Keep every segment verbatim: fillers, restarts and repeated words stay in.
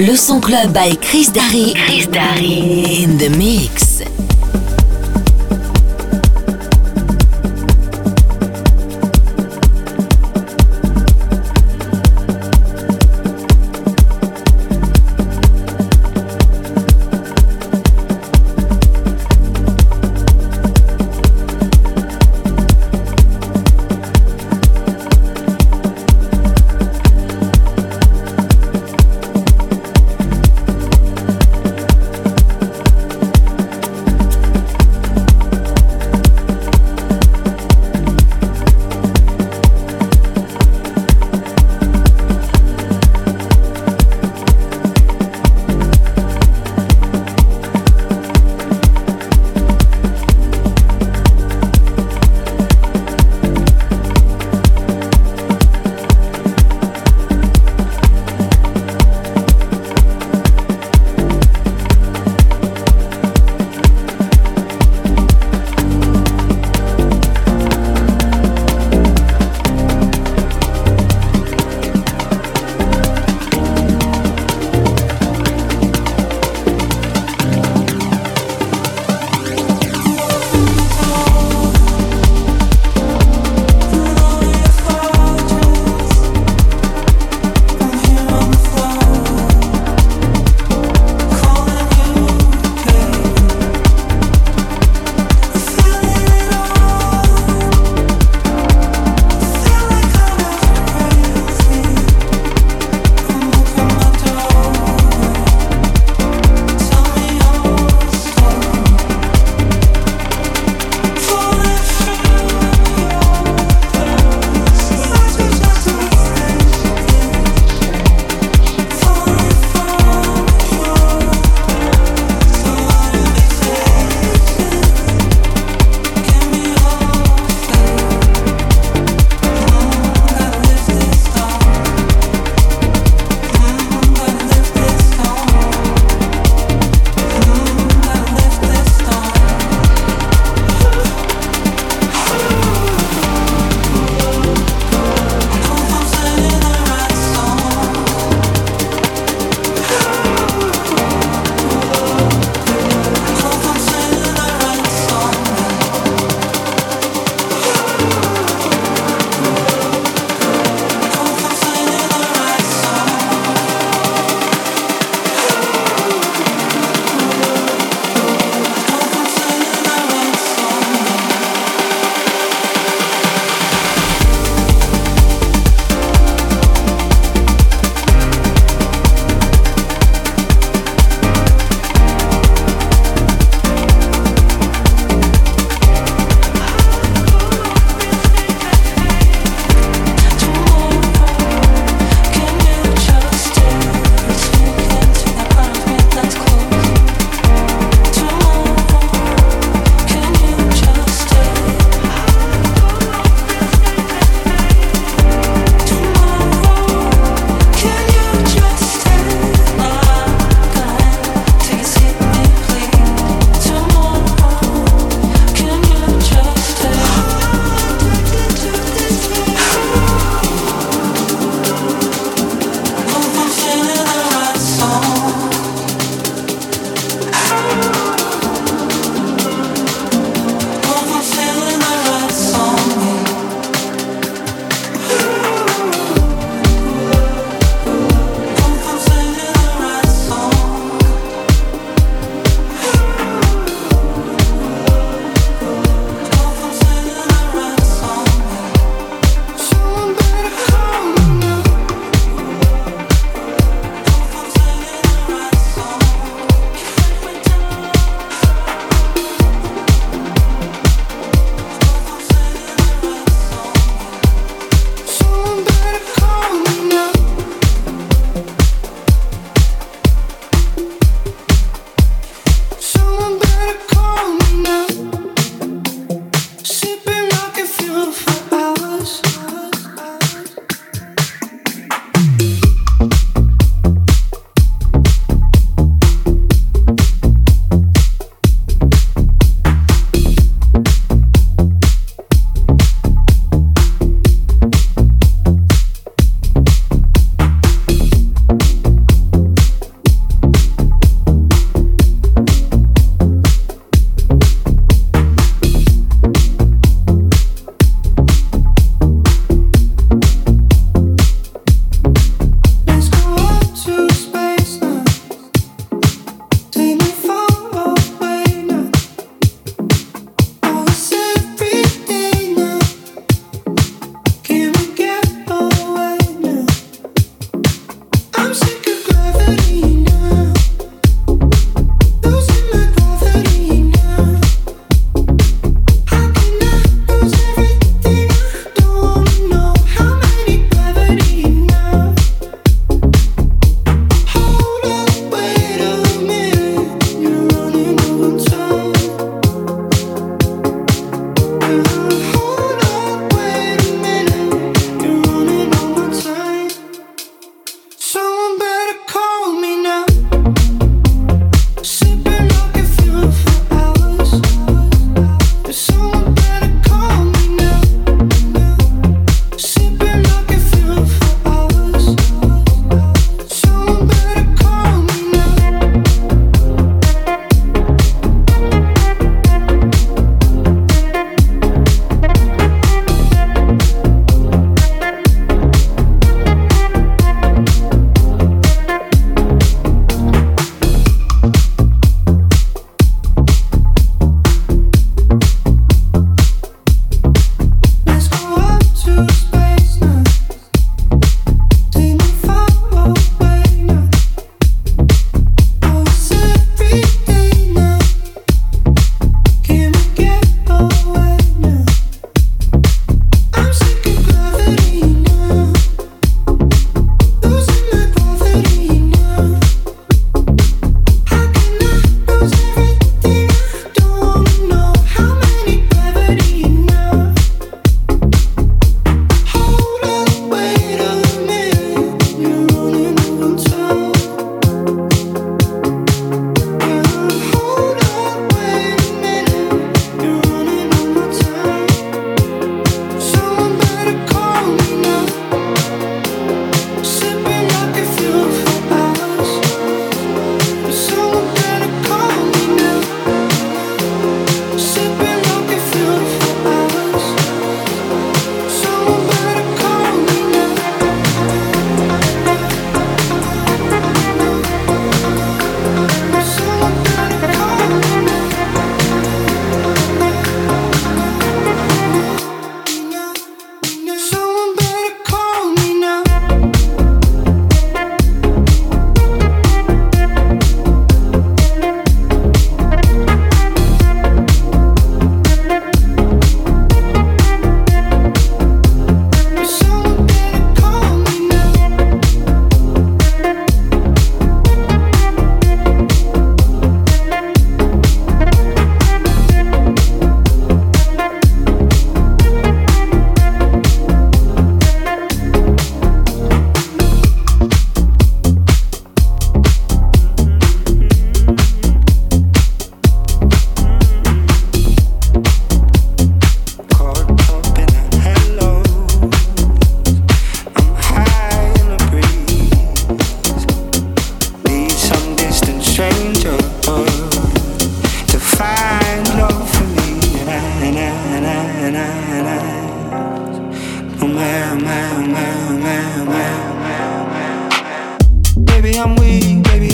Le Son Club by Chris Darry. Chris Darry in the mix.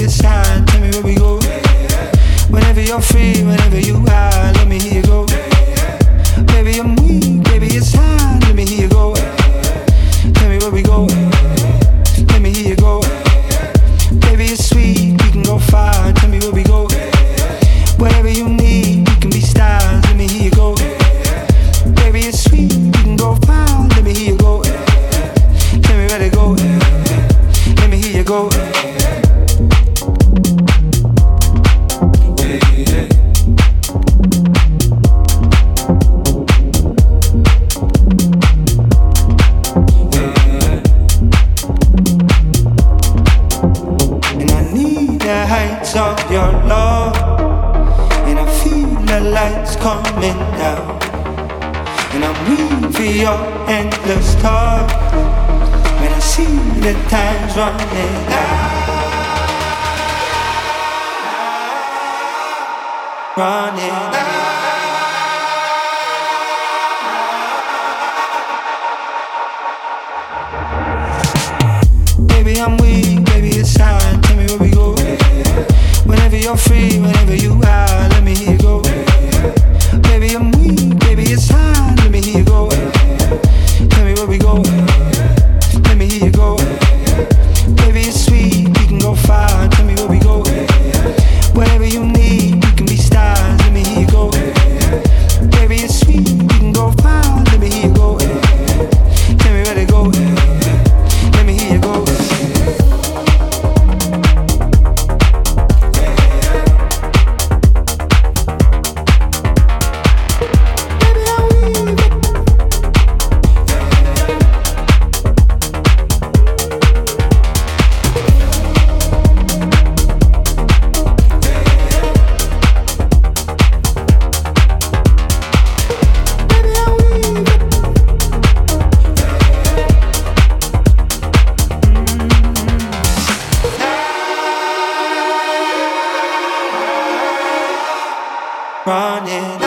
a sign, tell me where we go. Whenever you're free, whenever you are, let me hear you go. Baby, I'm weak, baby, it's time, let me hear you go. Tell me where we go. Let me hear you go. Baby, it's sweet, we can go far, tell me where we go. Whatever you need, we can be stars, let me hear you go. Baby, it's sweet, we can go far, let me hear you go. Tell me where to go. Let me hear you go. Of your love, and I feel the lights coming down, and I'm waiting for your endless talk. When I see the time's running out, running out. Baby, I'm weak, baby, it's time, tell me where we go. Whenever you're free, whenever you are, let me hear you go. Baby, I'm weak, baby, it's time, let me hear you go. Tell me where we go. Let me hear you go. Baby, it's sweet, we can go far, tell me where we go. Whatever you need, we can be stars, let me hear you go. Baby, it's sweet, we can go far, let me hear you go. Tell me where to go. Let me hear you go. Running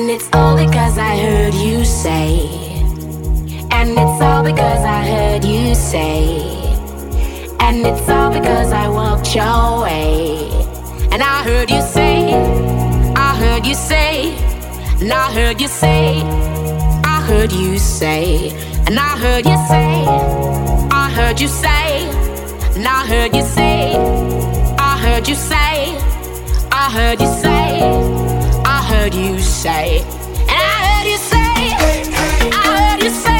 And it's all because I heard you say. And it's all because I heard you say. And it's all because I walked your way. And I heard you say, I heard you say, and I heard you say, I heard you say, and I heard you say, I heard you say, and I heard you say, I heard you say, I heard you say, I heard you say, and I heard you say, I heard you say.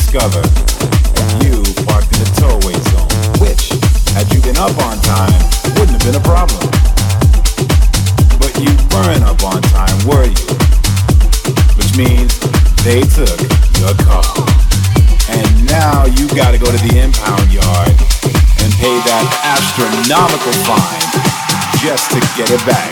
discover you parked in the towaway zone, which, had you been up on time, wouldn't have been a problem. But you weren't up on time, were you? Which means they took your car. And now you gotta go to the impound yard and pay that astronomical fine just to get it back.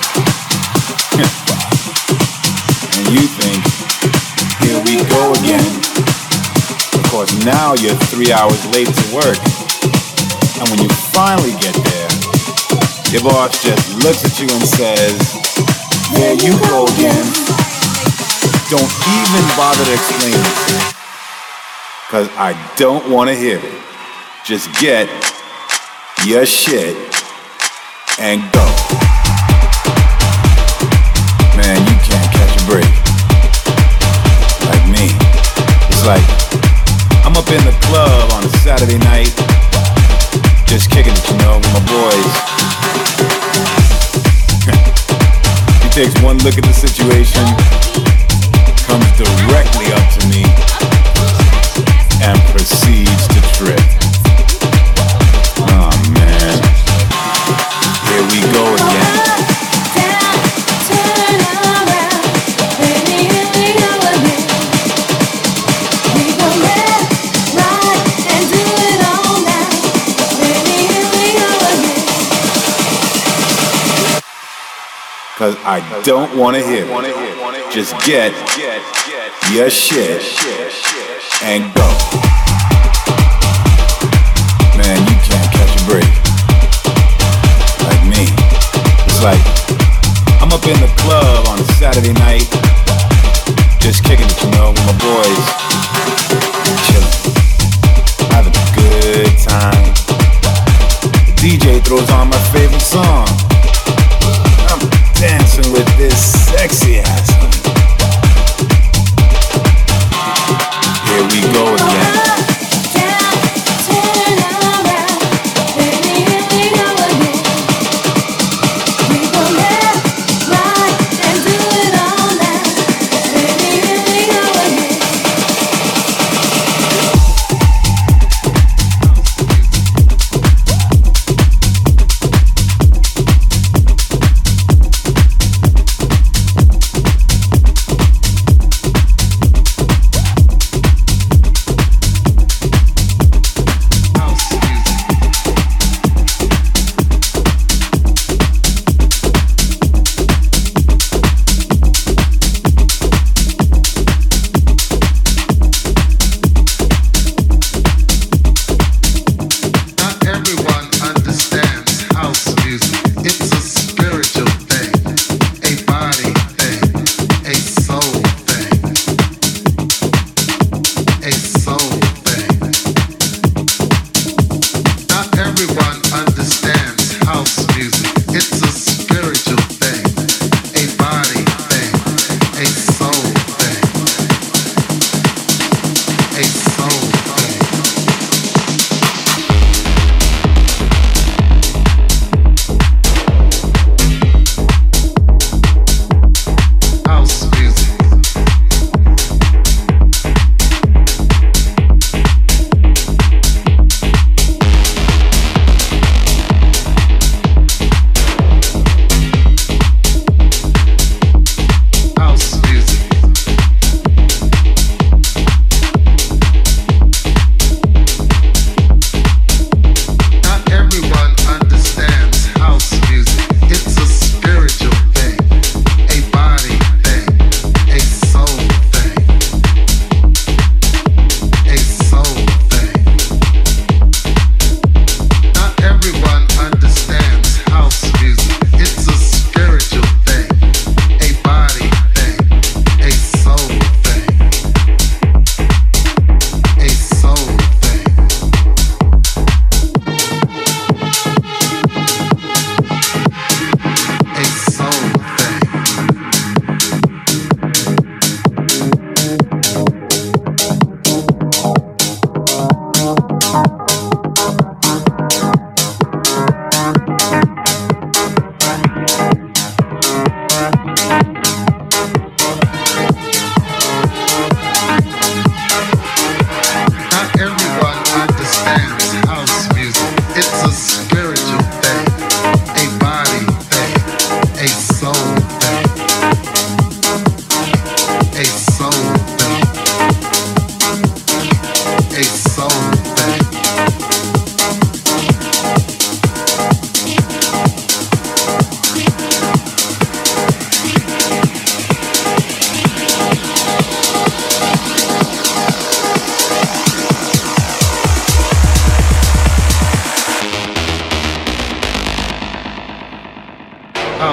And you think, here we go again. Of course, now you're three hours late to work. And when you finally get there, your boss just looks at you and says, there you go again. Don't even bother to explain it, cause I don't want to hear it. Just get your shit and go. Man, you can't catch a break. Like me. It's like, I'm up in the club on a Saturday night, just kicking it, you know, with my boys. He takes one look at the situation, comes directly up to me, and proceeds to trip. Oh man, here we go again. Cause I don't wanna hear it. Just get your shit and go. Man, you can't catch a break. Like me. It's like, I'm up in the club on a Saturday night, just kicking it, you know, with my boys. Chillin', having a good time. The D J throws on my favorite song. I'm dancing with this sexy ass. Here we go again.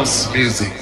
House music.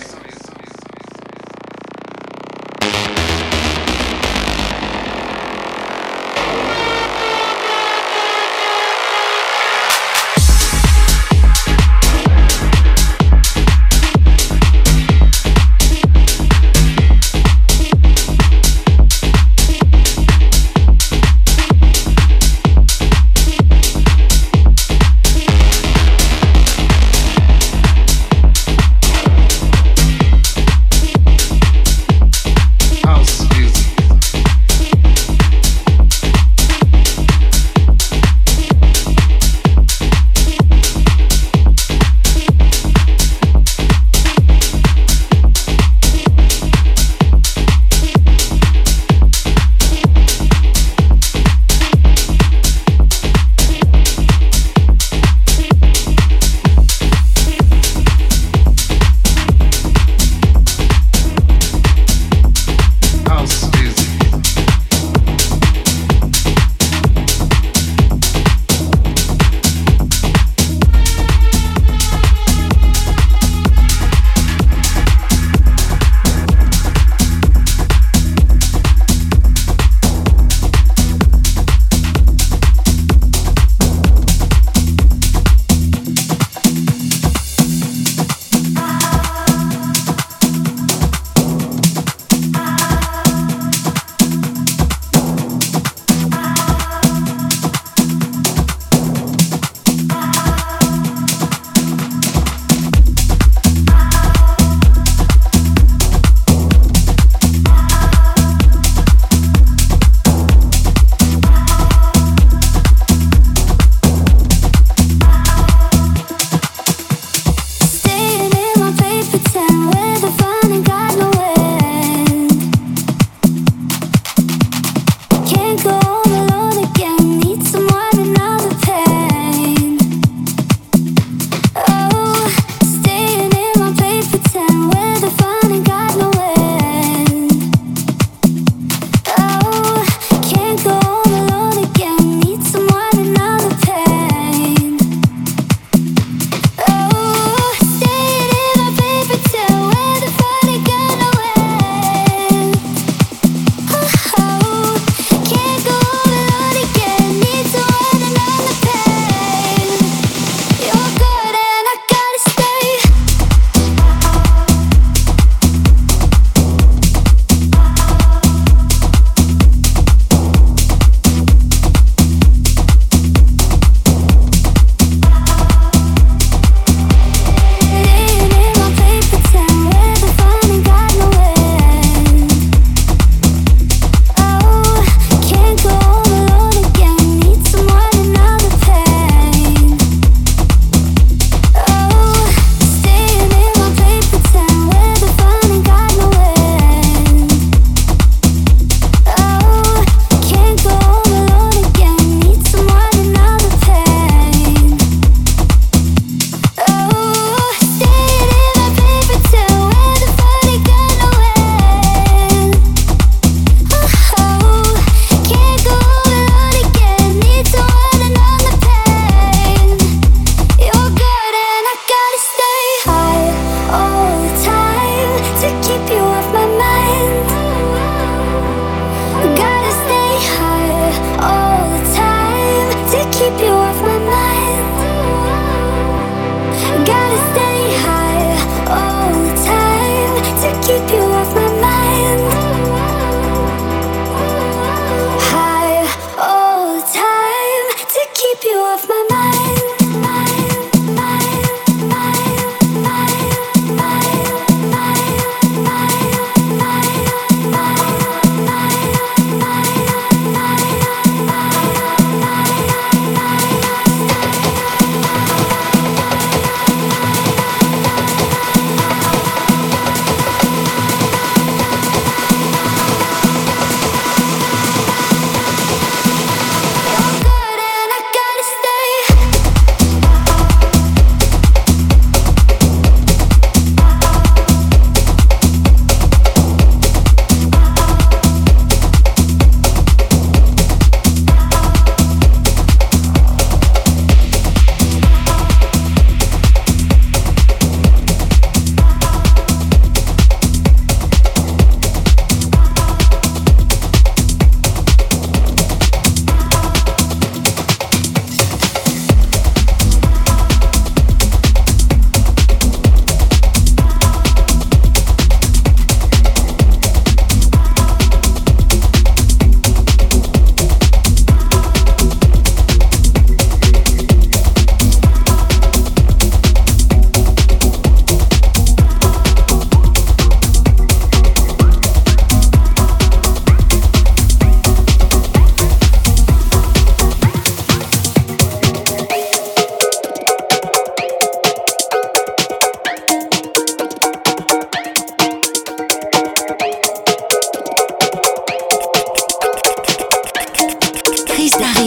Stay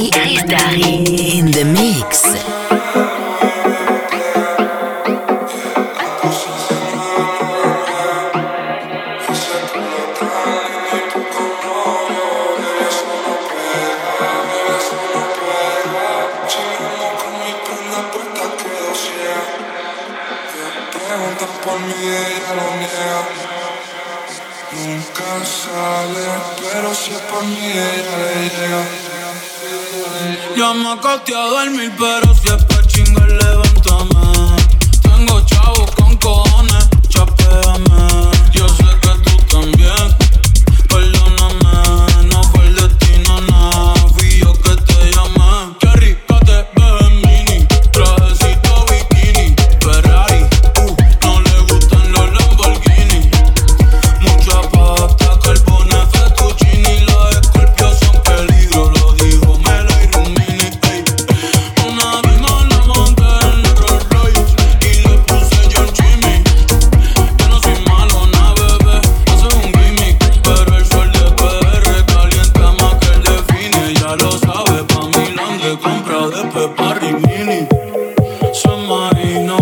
Darry, Chris Darry in the mix. Por mí ella lo niega. Nunca sale, pero si es por mí ella le llega. Ya me acosté a dormir, pero si es pa' chingar, levántame. Tengo chavos con cojones, chapéame. Yo sé que tú también, perdóname. No fue el destino, nada, fui yo que te llamé. Qué rica te ves en mini, trajecito bikini, Ferrari. No le gustan los Lamborghini. Mucha pasta, carbones, fettuccini. Los escorpios son peligro, lo dijo Melo y Rumini. Ey. Una vino la monté en el Rolls Royce y le puse John Jimmy. Yo no soy malo, na bebé, hace un gimmick. Pero el sol de P R calienta más que el de Fini. Ya lo sabe, pa' Milán de compra de Pepa Rimini. Se marino.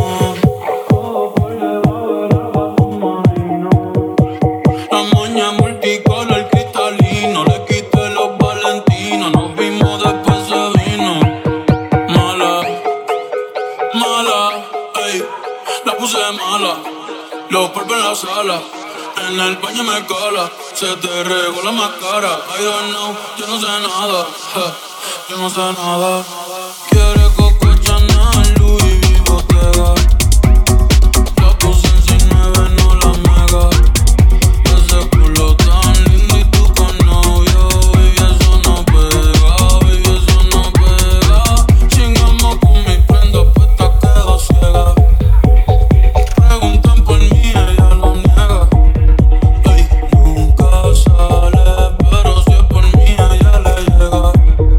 La moña multicolor cristalino, le quité los valentinos, nos vimos después se vino. Mala, mala, ey, la puse mala, los polvos en la sala, en el baño me cala, se te regó la máscara. I don't know, yo no sé nada, ja, yo no sé nada. Quiere Coco Chanel, Louis V, Bottega. La puse en seis nueve, no la mega. Ese culo tan lindo y tú con novio, baby, eso no pega, baby, eso no pega. Chingamos con mi prenda puesta, quedo ciega. Preguntan por mí, ella lo niega. Ey, nunca sale, pero si es por mí, ella le llega.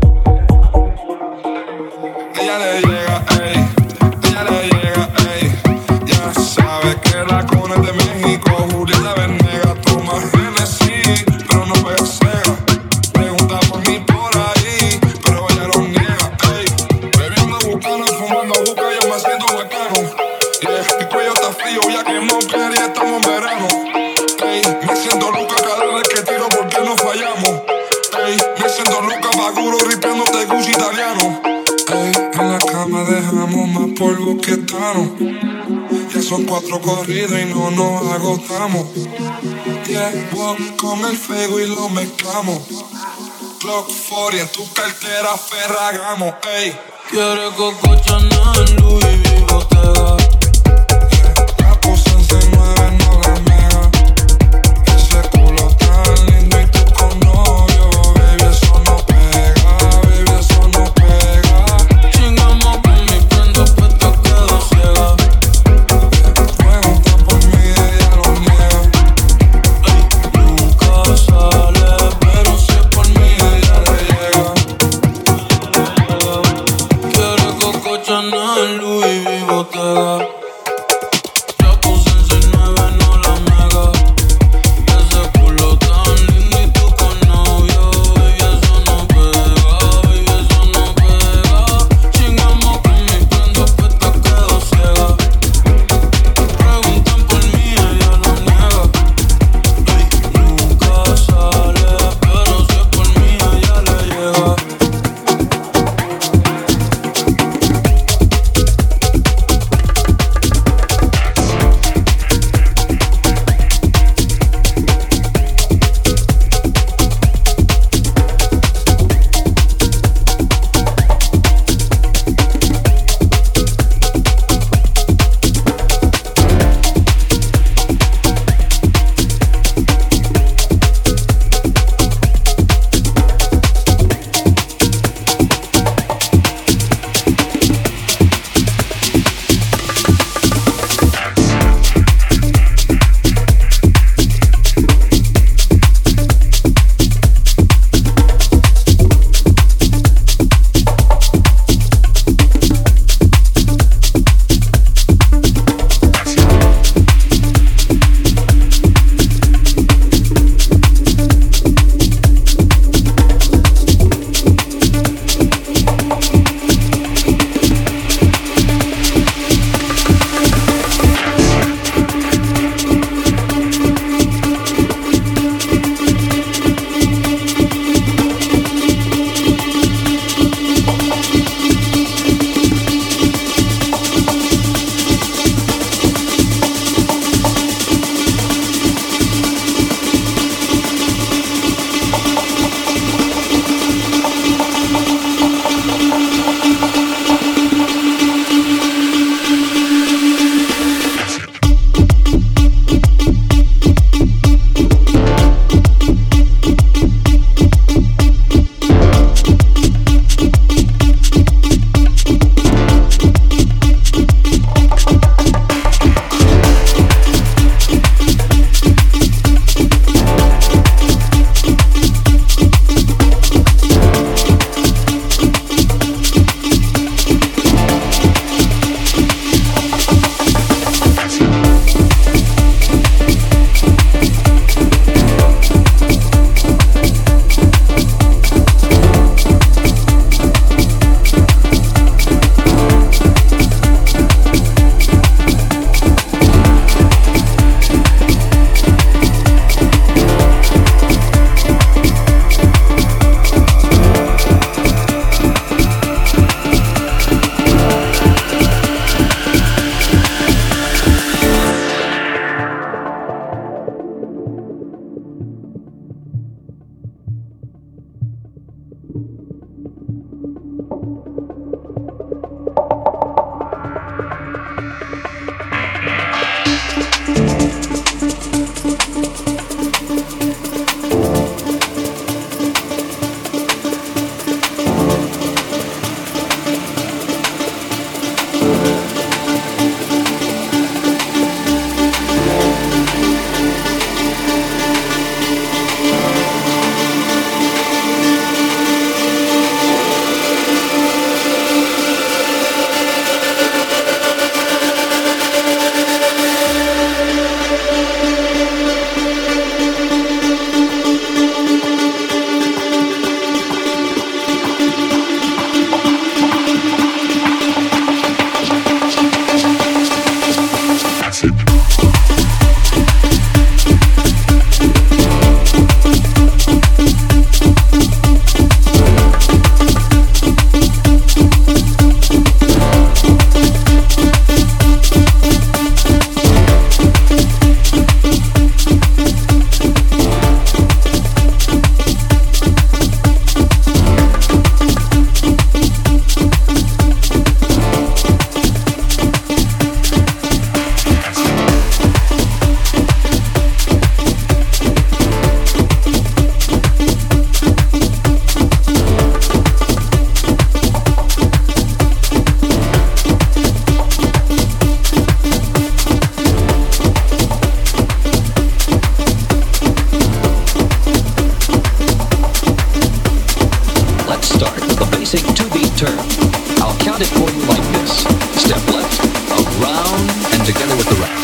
Ella le llega, ey, ella le llega, ey. Ya sabe que la cuna es de México. Julieta Venegas toma Genesis, pero no puede cega. Pregunta por mí por ahí, pero ella lo niega, ey. Bebiendo, buscando, fumando, busca, yo me siento bacano. Yeah, mi cuello está frío, ya que no quiere y estamos en verano. Ey, me siento loca cada vez que tiro porque no fallamos. Ey, me siento loca, Maguro, ripiándote Gucci italiano. Ey, en la cama dejamos más polvo que Tano. Ya son cuatro corridos y no nos agotamos. Llevo con el fuego y lo mezclamos. Glock cuarenta en tu cartera Ferragamo, ey. Quiere Coco Chanel, Louis V, Bottega. La puse en seis nueve, no la mega. Ese culo tan lindo y tú con novio, baby, eso no pega, baby, eso no pega. Chingamos con mi prenda puesta, quedo ciega. Pregunta por mí, ella lo niega. Ey, nunca sale, pero si es por mí, ella le llega. Quiere Coco Chanel, Louis V, Bottega. two-beat turn. I'll count it for you like this. Step left, around, and together with the right.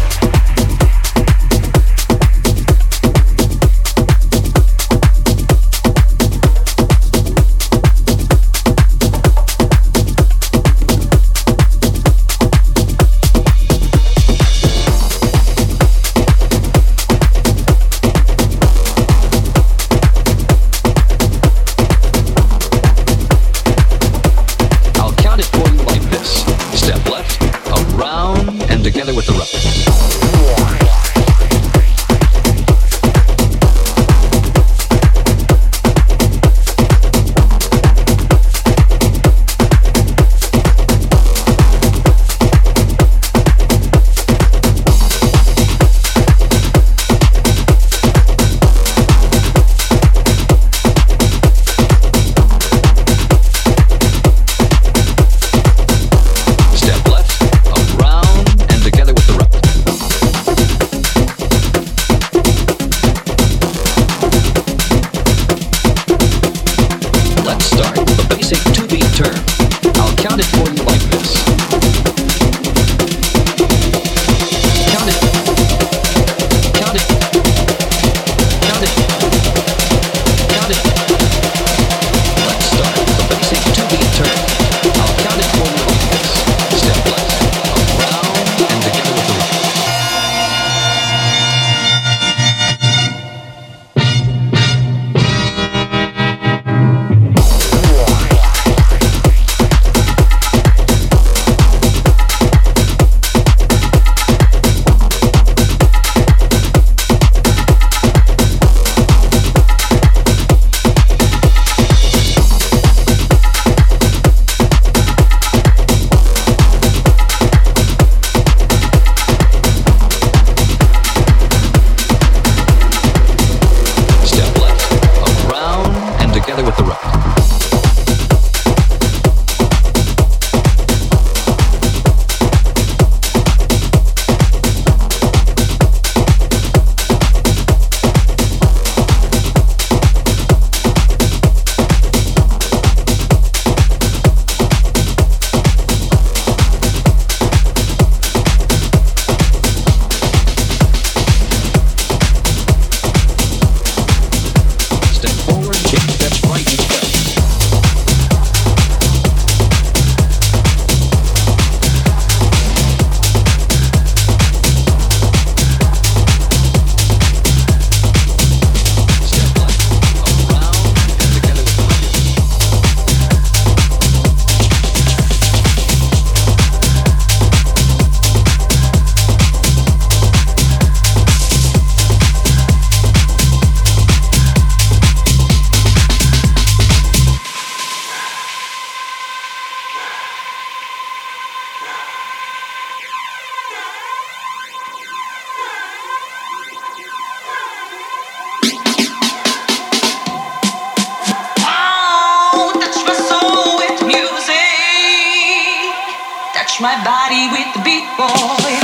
my body with the beat, boy.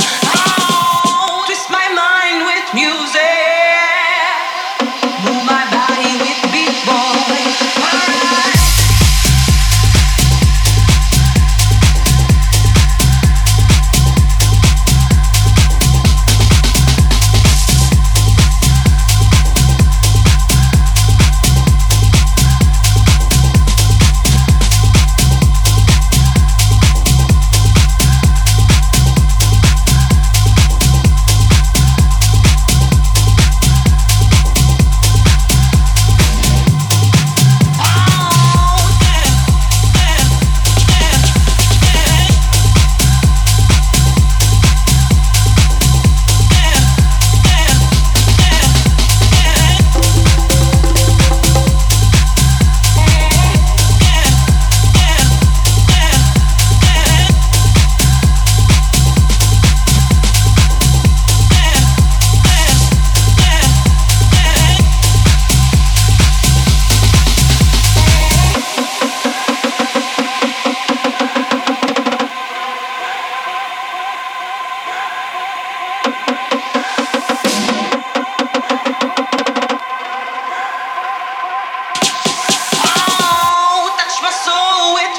Oh, twist my mind with music. Move my body with the beat, boy. Alright.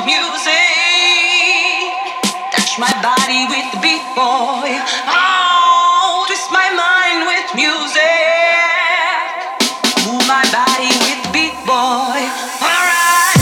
music. Touch my body with the beat, boy. Oh, twist my mind with music. Move my body with the beat, boy. Alright.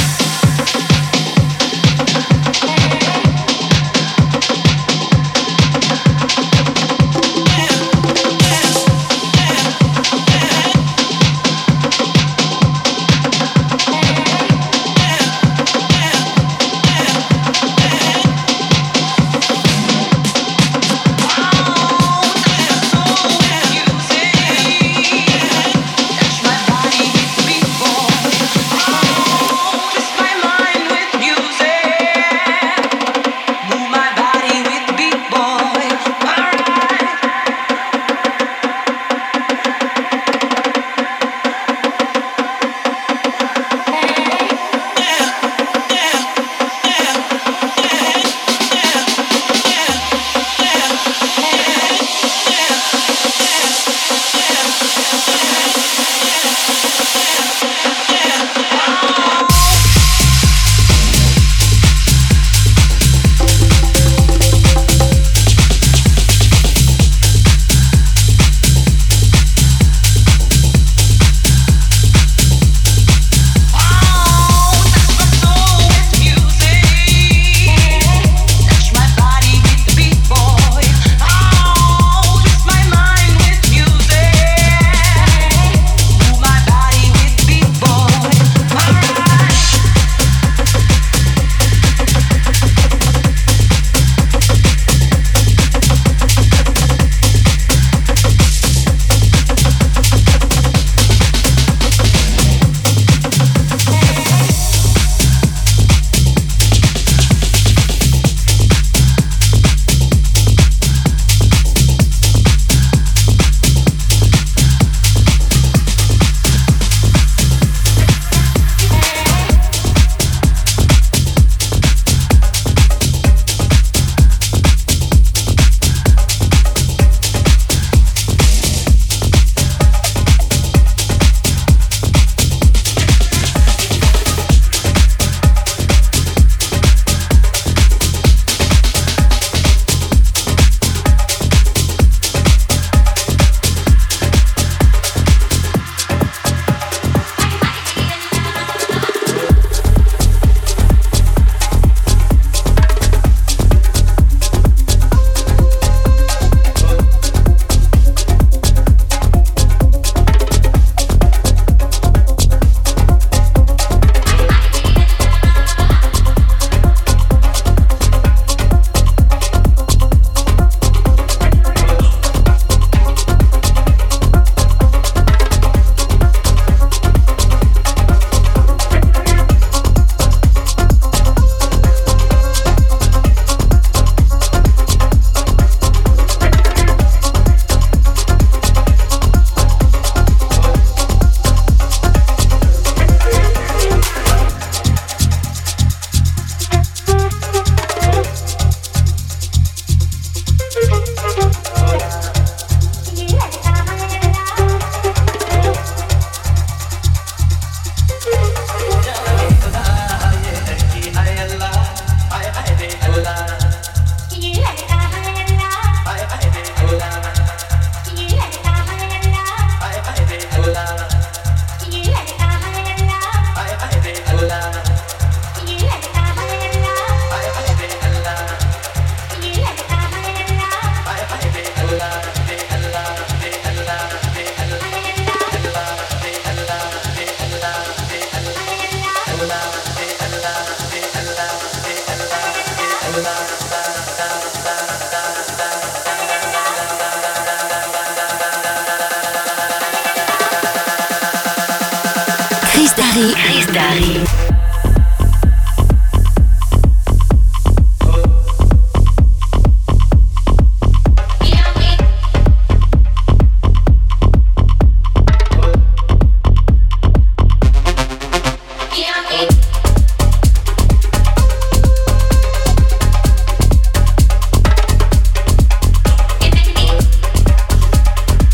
Chris Darry. Chris Darry.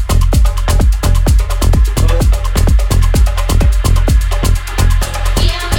Yeah.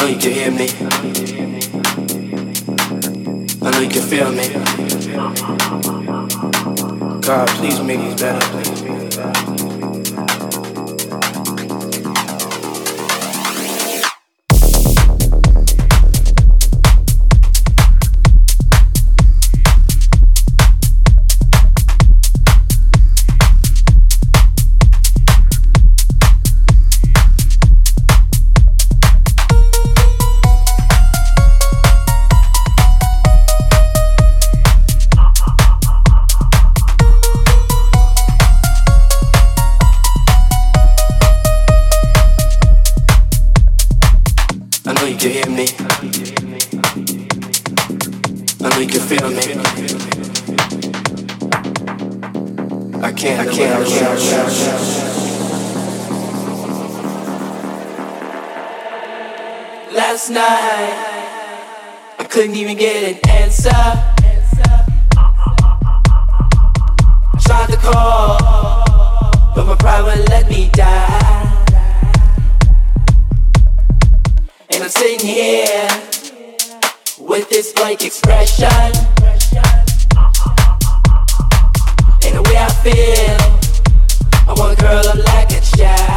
know you can hear me. I know you can feel me. God, please make these better. Last night, I couldn't even get an answer. I tried to call, but my pride wouldn't let me die. And I'm sitting here with this blank expression. And the way I feel, I wanna curl up like a child.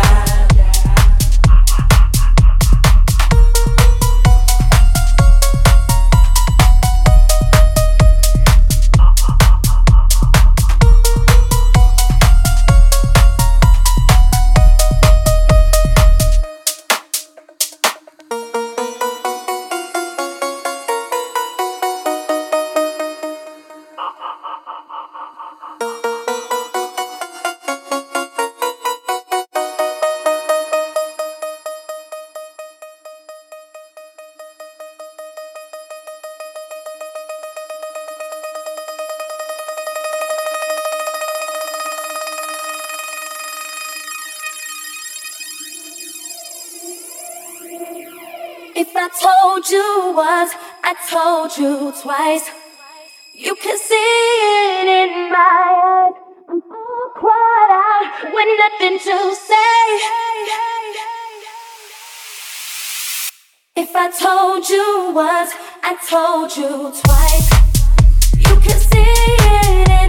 If I told you once, I told you twice. You can see it in my eyes. I'm all cried out with nothing to say. If I told you once, I told you twice. You can see it in